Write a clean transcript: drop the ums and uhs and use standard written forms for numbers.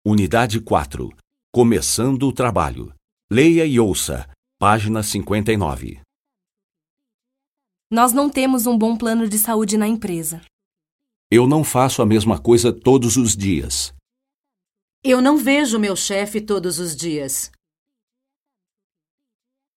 Unidade 4. Começando o trabalho. Leia e ouça. Página 59. Nós não temos um bom plano de saúde na empresa. Eu não faço a mesma coisa todos os dias. Eu não vejo meu chefe todos os dias.